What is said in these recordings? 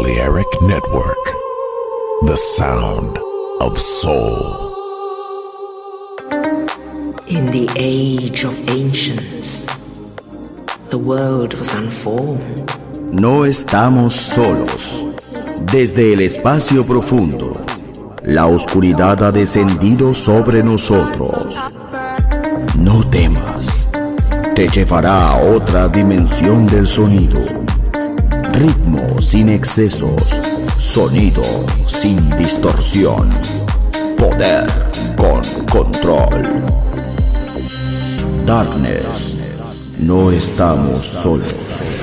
Balearic Network, the sound of soul. In the age of ancients, the world was unformed. No estamos solos. Desde el espacio profundo, la oscuridad ha descendido sobre nosotros. No temas, te llevará a otra dimensión del sonido. Ritmo sin excesos, sonido sin distorsión, poder con control. Darkness, no estamos solos.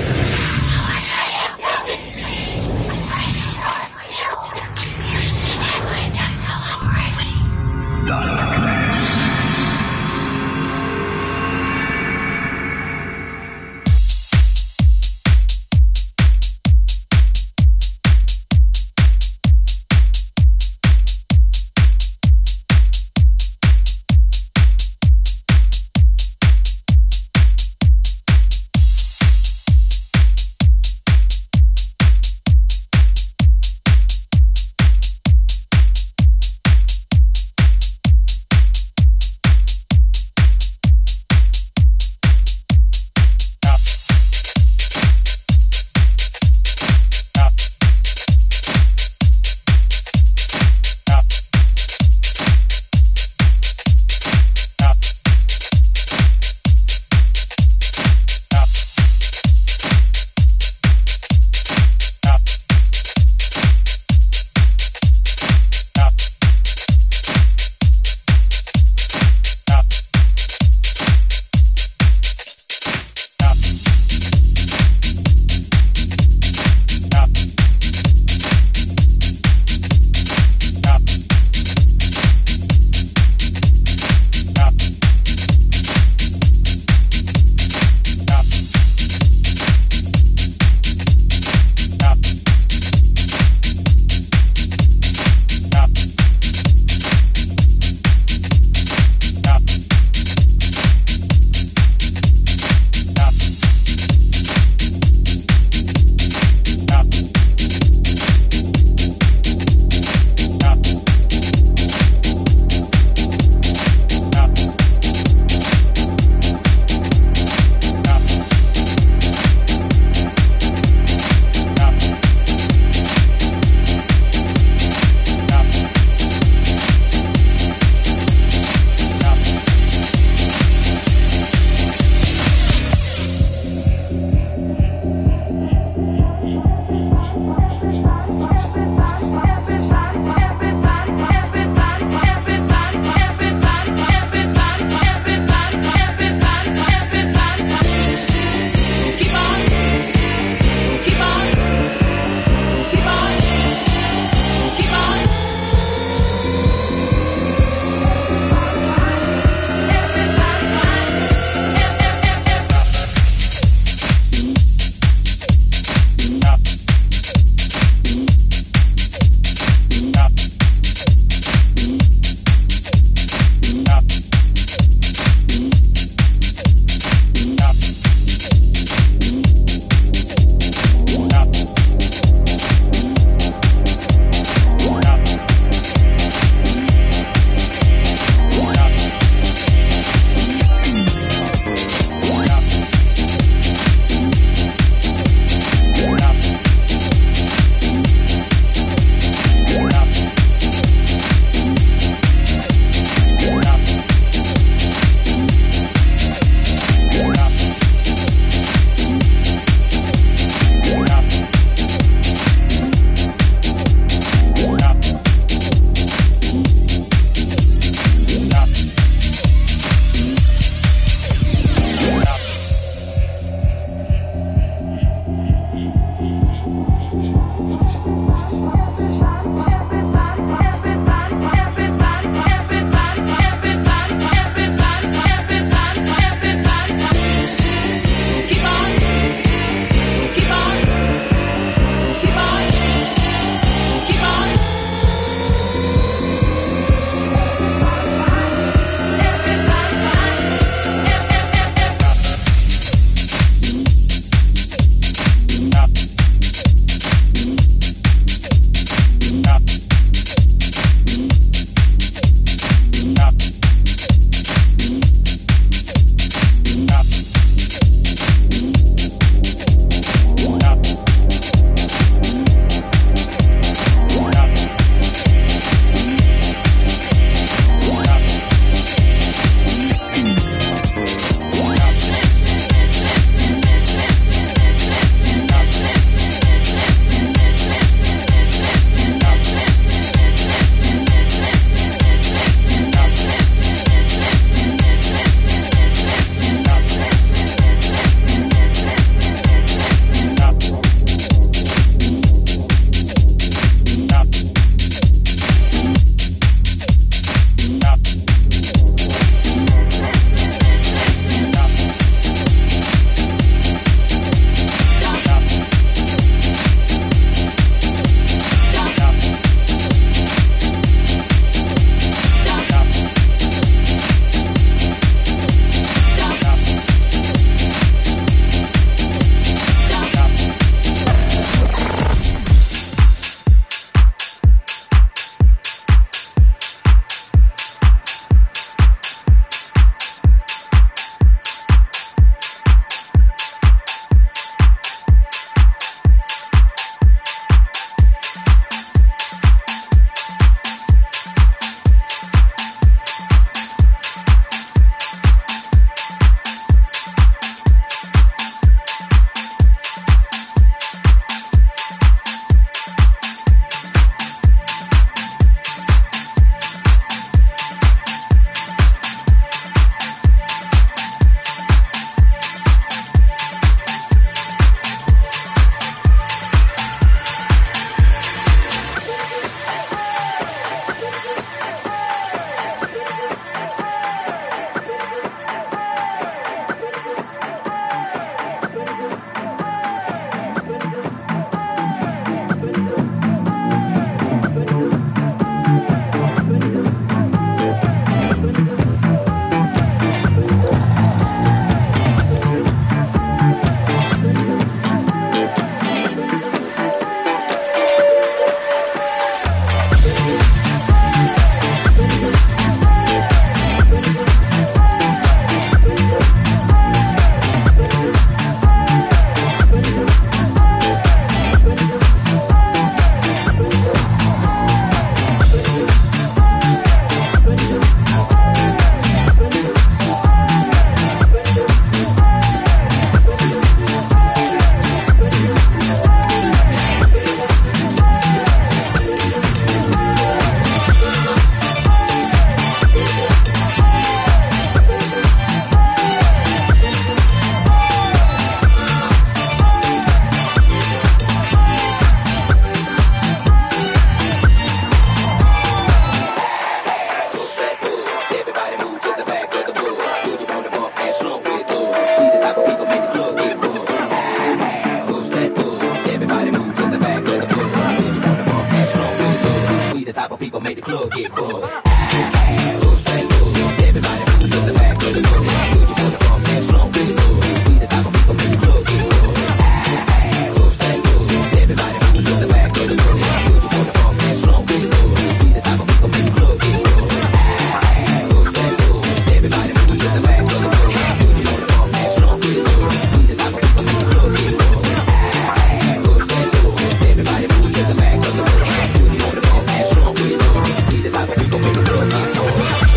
club get full. Push that move, everybody move to the back of the club. Do you wanna bump that slump with us? We the type of people make the club get full. Push that move, everybody move to the back of the club. Do you wanna bump that slump with us? We the type of people make the club get full. Push that move, everybody move to the back of the club. Do you wanna bump that slump with us? We the type of people make the club get full. Push that move, everybody move to the back of the club. Do you wanna bump that slump with us? We the type of people make the club get full.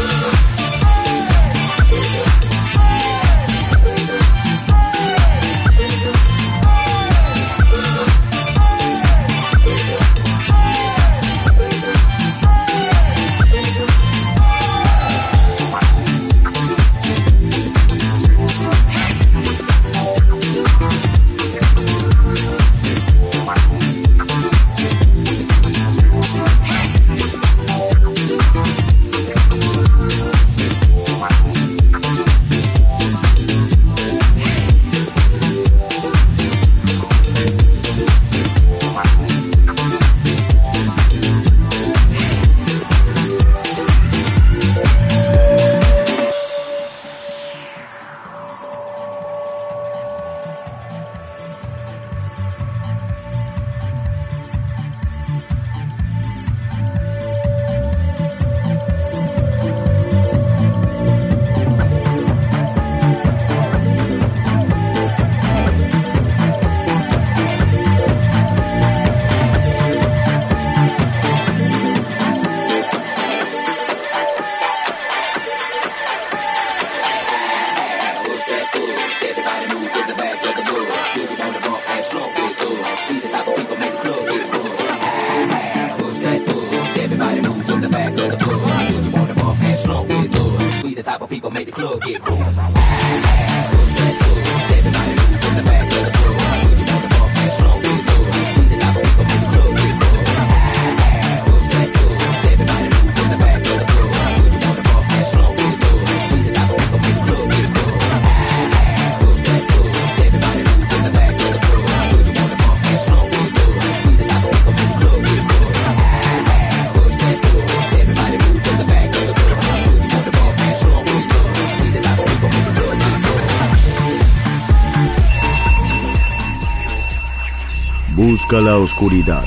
Busca la oscuridad.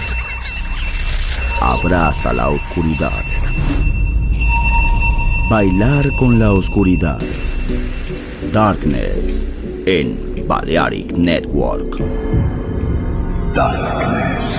Abraza la oscuridad. Bailar con la oscuridad. Darkness en Balearic Network. Darkness.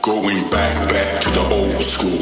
Going back to the old school.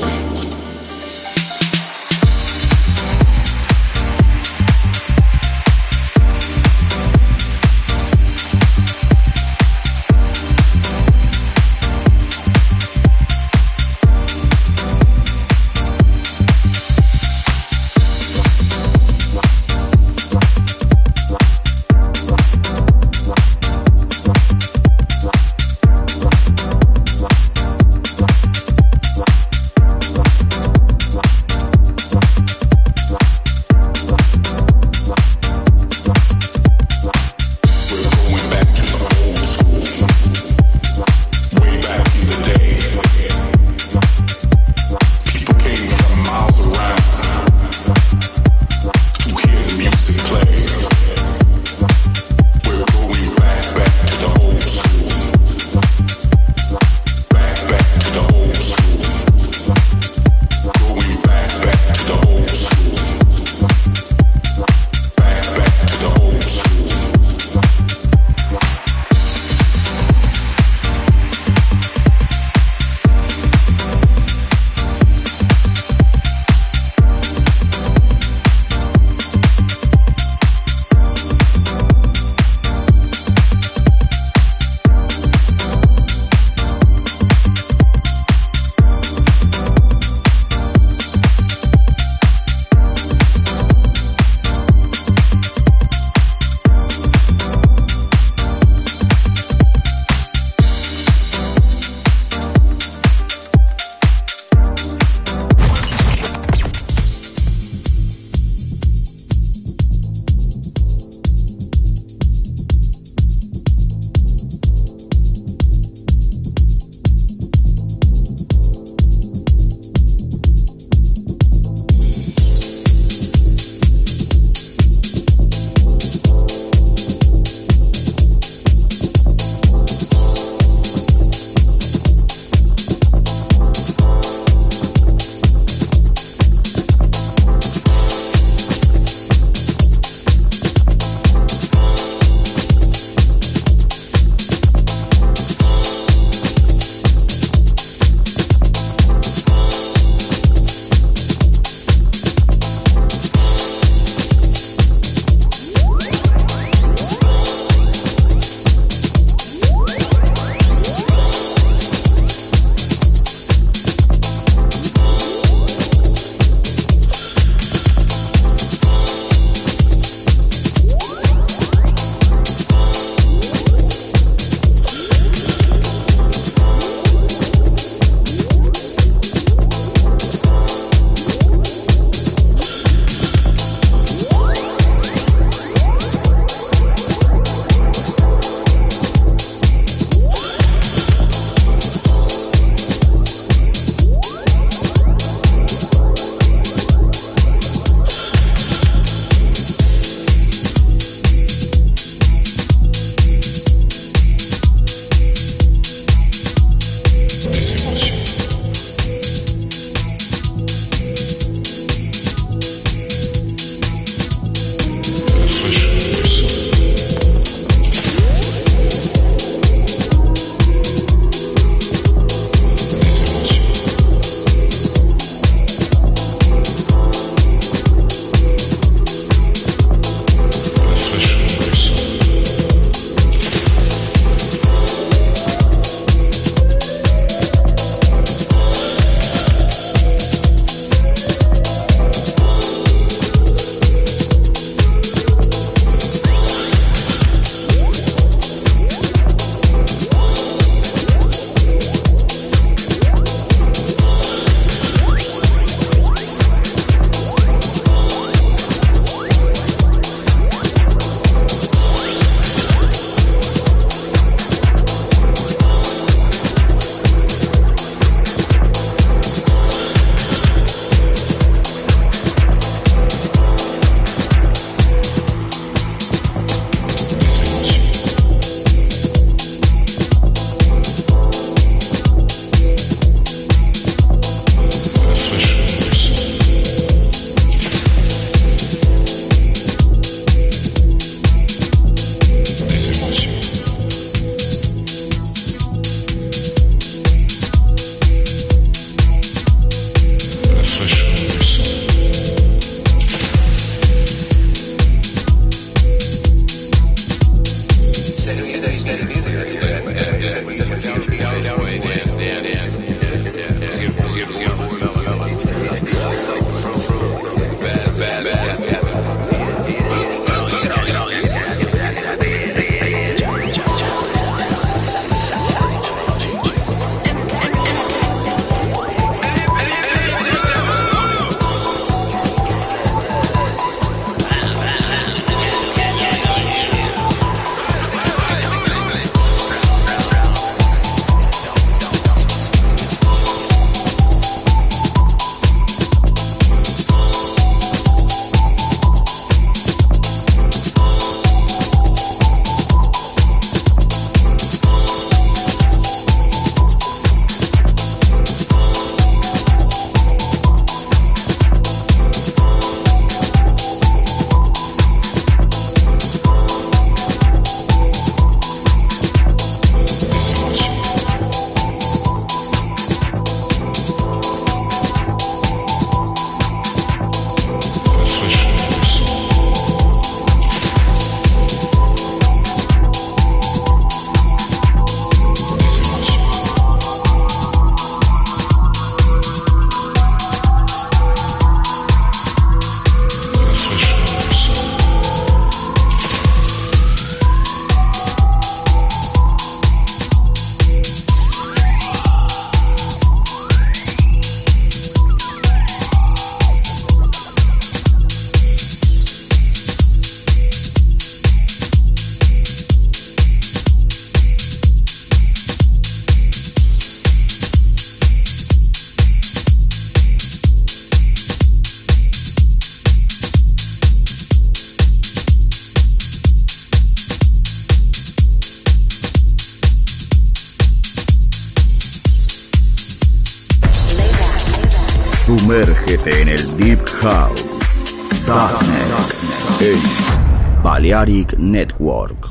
Sumérgete en el Deep House. Darknet en Balearic Network.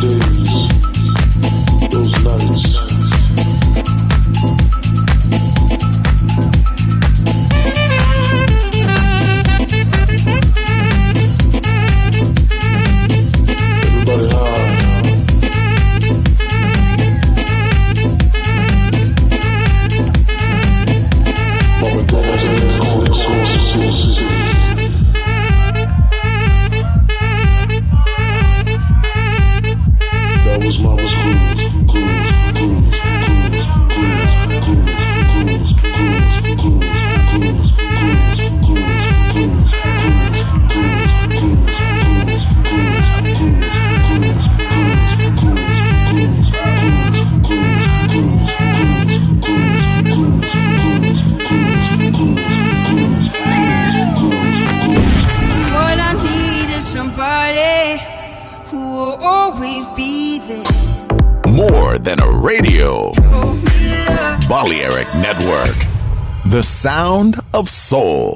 Balearic Network, the sound of soul.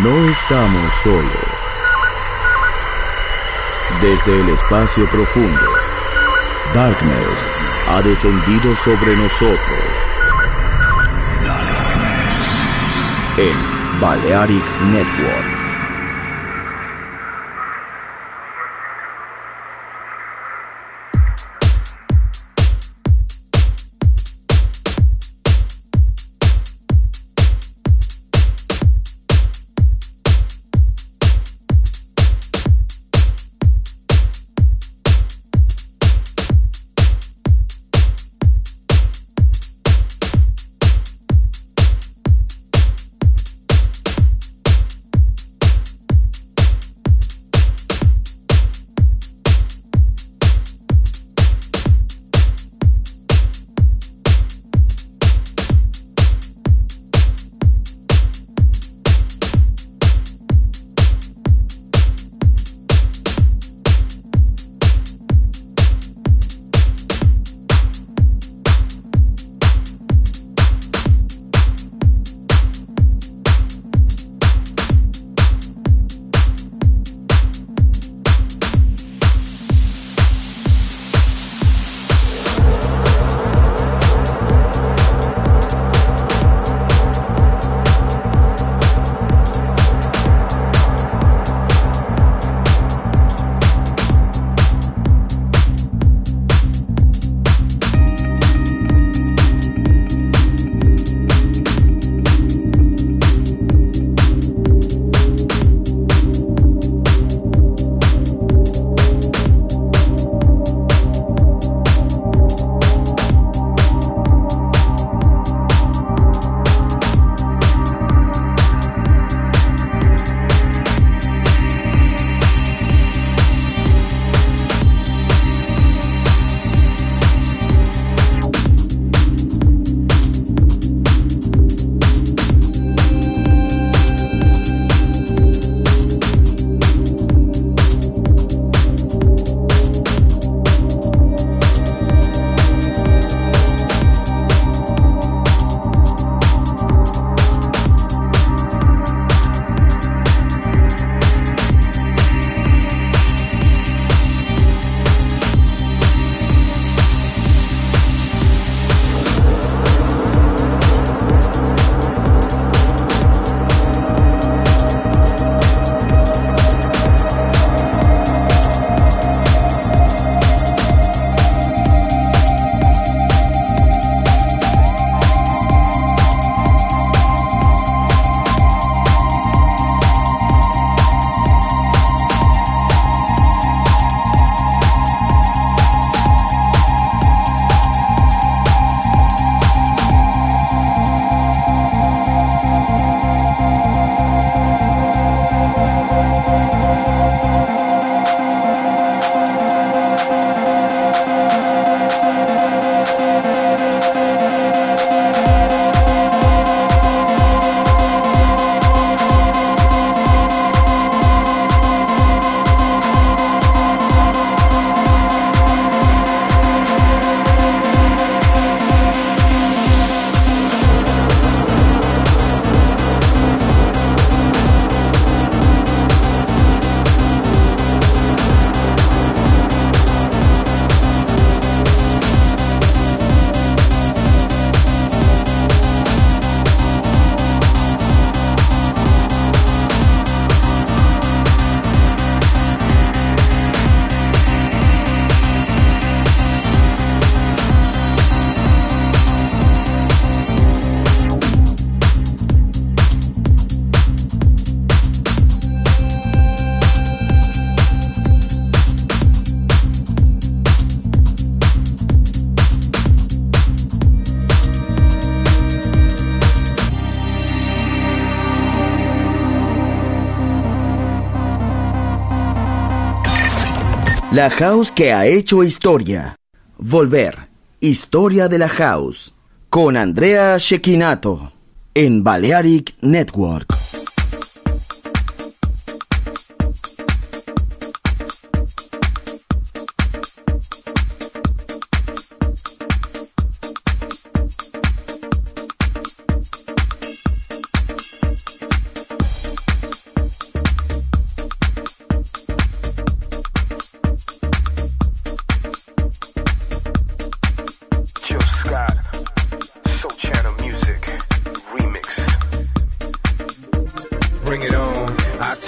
No estamos solos. Desde el espacio profundo, Darkness ha descendido sobre nosotros. En Balearic Network. La house que ha hecho historia. Volver. Historia de la house. Con Andrea Cecchinato. En Balearic Network.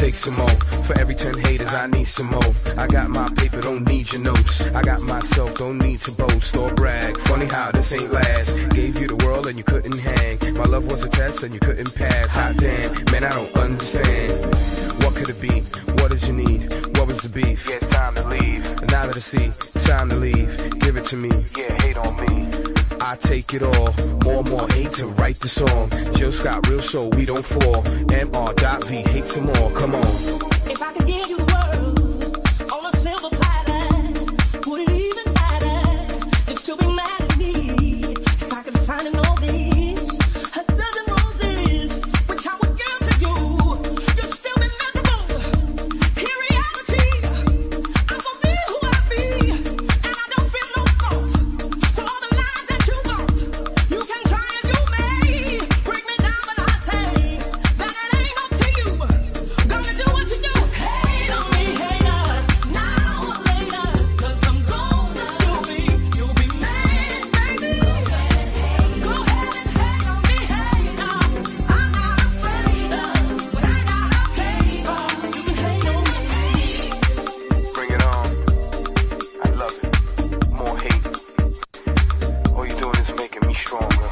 take some more. For every 10 haters, I need some more. I got my paper, don't need your notes. I got myself, don't need to boast or brag. Funny how this ain't last. Gave you the world and you couldn't hang. My love was a test and you couldn't pass. Hot damn, man, I don't understand. What could it be? What did you need? What was the beef? Yeah, it's time to leave. And now that I see, time to leave. Give it to me. Yeah, hate on me. I take it all. More hate to write the song. Jill Scott, real soul, we don't fall. MR.V, hate some more. Come on. If I could give you the world on a silver platter, would it even matter? You'd still be mad at me. If I could find an all this, a dozen roses, which I would give to you, you'd still be miserable. In reality, I'm gonna be who I be, and I don't feel no fault for all the lies that you want. You can try as you may, break me down, but I say that it ain't up to you. Gonna do what you do. Hate on me, hater, now or later, 'cause I'm gonna do me. You'll be mad, baby. Go ahead and hate on me, hater. I'm not afraid of what I gotta pay for. You can hate on me. Bring it on. I love it. More hate. All you're doing is making me stronger.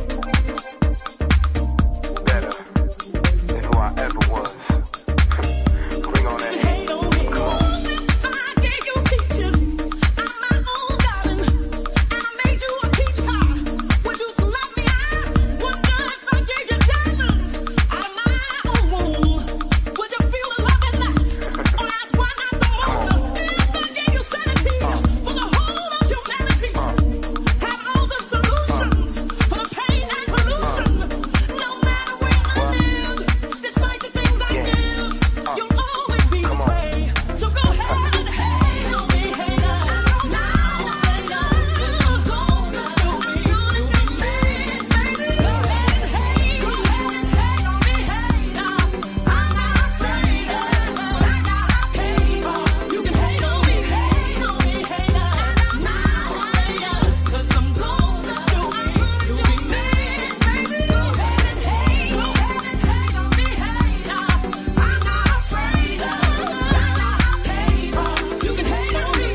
Better than who I ever was. Bring on that hate. Hate on me. Come on. I gave you peaches. I'm my own darling, and I made you a peach pie. Would you slap me? I wonder if I gave you diamonds out of my own womb. Would you feel the love in that? Or that's why not the more? If I gave you sanity for the whole of humanity, have all the solutions for the pain and pollution. No matter where I live, despite the things I give, you'll always be this way. So go ahead and hate on me, hater. Now or later, 'cause I'm gonna do me. You'll be mad, baby. Go ahead and hate. Go ahead and hate on me, hater. I'm not afraid of what I gotta pay for. You can hate on me, hater. Now or later, 'cause I'm gonna do me. You'll be mad, baby. Go ahead and hate. Go ahead and hate on me, hater. I'm not afraid of what I gotta pay for. You can hate on me.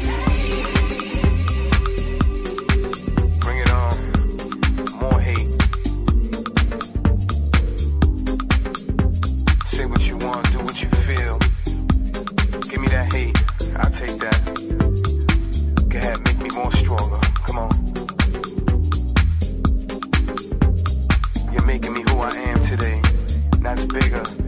Bring it on. More hate. Say what you want, do what you feel. Give me that hate. I'll take that. Go ahead, make me more stronger. Come on. You're making me who I am today. That's bigger